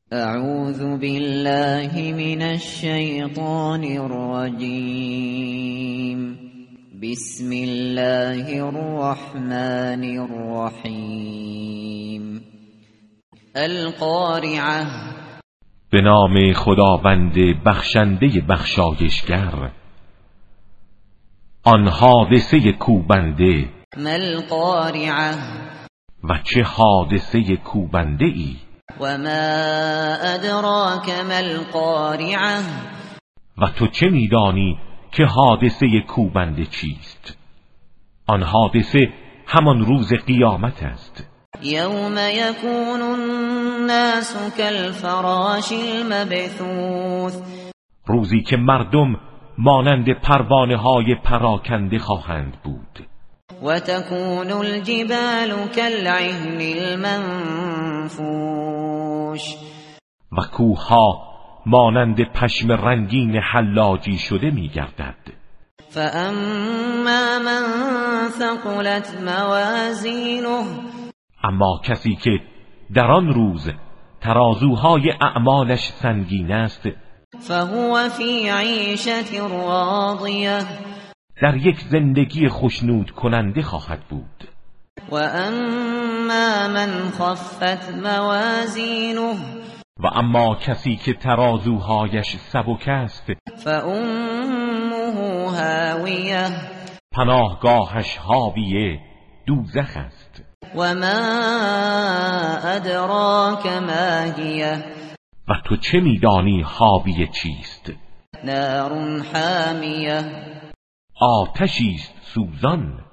اعوذ بالله من الشیطان الرجیم. بسم الله الرحمن الرحیم. القارعه. به نام خداوند بخشنده بخشایشگر. آن حادثه کوبنده. ما القارعه. و چه حادثه کوبنده ای. و ما ادراک ما القارعه. و تو چه میدانی که حادثه کوبنده چیست؟ آن حادثه همان روز قیامت است. یوم یکون الناس کالفراش المبثوث. روزی که مردم مانند پروانه های پراکنده خواهند بود. و تکون الجبال کالعهن المنفوش. و کوهها مانند پشم رنگین حلاجی شده می‌گردد. فاما من ثقلت موازینه. اما کسی که در آن روز ترازوهای اعمالش سنگین است، فهو فی عیشة راضیه. در یک زندگی خشنود کننده خواهد بود. و اما من خفت موازینه. و اما کسی که ترازوهایش سبک است، فامه هاویه. پناهگاهش حاویه دوزخ است. و ما ادراک ما هیه. و تو چه میدانی حاویه چیست؟ نار حامیه. آتشی است سوزان.